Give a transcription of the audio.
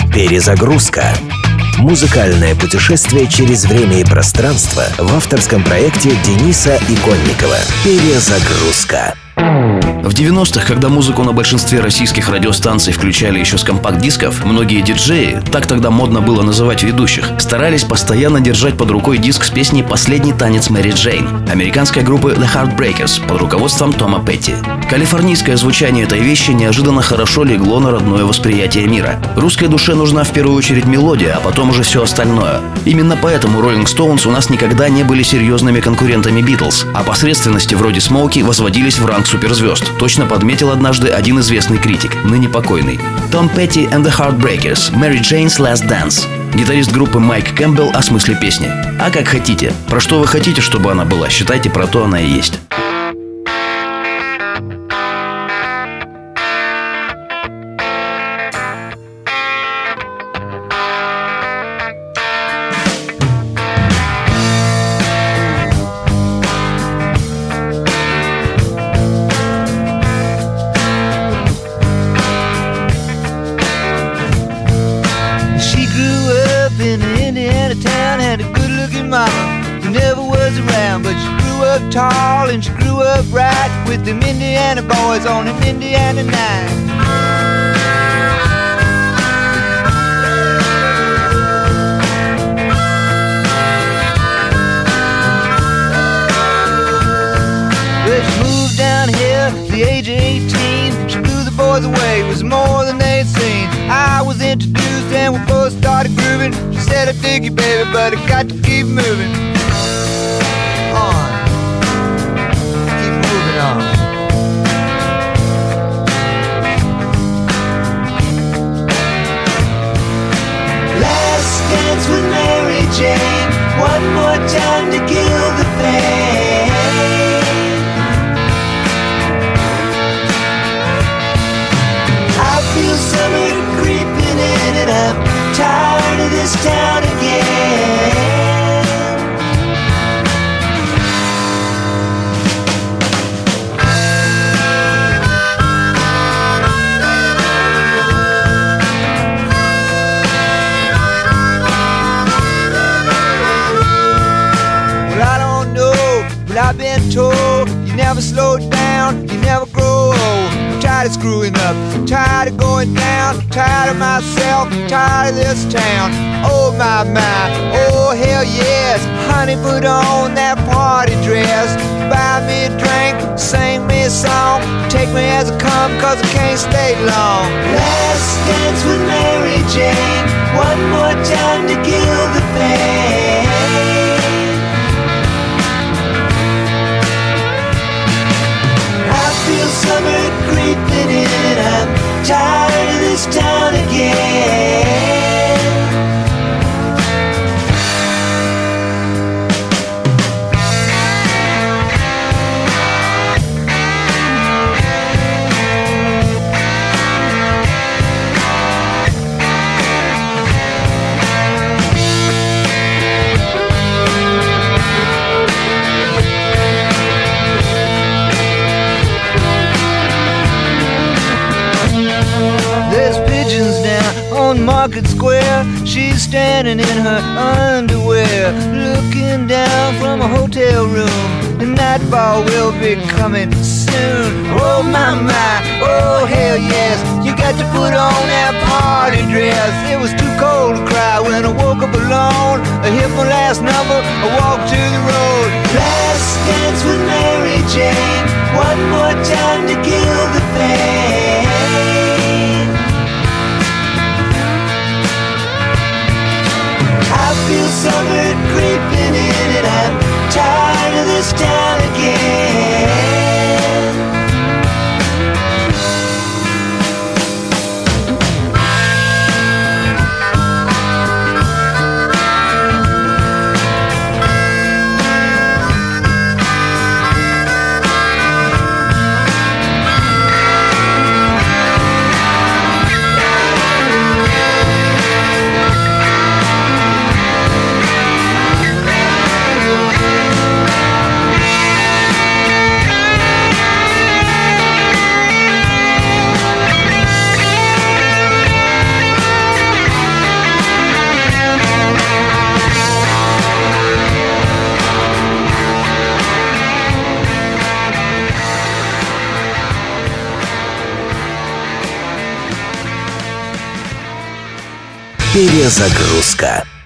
Перезагрузка. Музыкальное путешествие через время и пространство в авторском проекте Дениса Иконникова. Перезагрузка. В 90-х, когда музыку на большинстве российских радиостанций включали еще с компакт-дисков, многие диджеи, так тогда модно было называть ведущих, старались постоянно держать под рукой диск с песней «Последний танец Мэри Джейн» американской группы The Heartbreakers под руководством Тома Петти. Калифорнийское звучание этой вещи неожиданно хорошо легло на родное восприятие мира. Русской душе нужна в первую очередь мелодия, а потом уже все остальное. Именно поэтому Rolling Stones у нас никогда не были серьезными конкурентами Beatles, а посредственности вроде Смоуки возводились в ранг суперзвезд. Точно подметил однажды один известный критик, ныне покойный. Том Петти and the Heartbreakers, Mary Jane's Last Dance. Гитарист группы Майк Кэмпбелл о смысле песни. А как хотите. Про что вы хотите, чтобы она была, считайте, про то она и есть. In an Indiana town, had a good-looking mama who never was around, but she grew up tall and she grew up right with them Indiana boys on an Indiana night. Well, she moved down here at the age of 18. She blew the boys away, it was more than they'd seen. I was introduced and we both started grooving. She said, I dig you, baby, but I got to keep moving on. Keep moving on. Last dance with Mary Jane. One more time to kill the pain. I feel summer creeping in and I'm tired of this town again. Well, I don't know, but I've been told you never slow down, you never grow old. I'm tired of screwing up, I'm tired of going down, I'm tired of myself, I'm tired of this town. Oh my, oh hell yes. Honey, put on that party dress. Buy me a drink, sing me a song. Take me as I come, cause I can't stay long. Last dance with Mary Jane. One more time to kill the pain. I feel summer creeping in. I'm tired of this town again. On Market Square, she's standing in her underwear, looking down from a hotel room. The nightfall will be coming soon. Oh my, oh hell yes. You got to put on that party dress. It was too cold to cry when I woke up alone. I hit my last number, I walked to the road. Last dance with Mary Jane. One more time to kill the pain. I feel summer creeping in and I'm tired of this town again. Перезагрузка.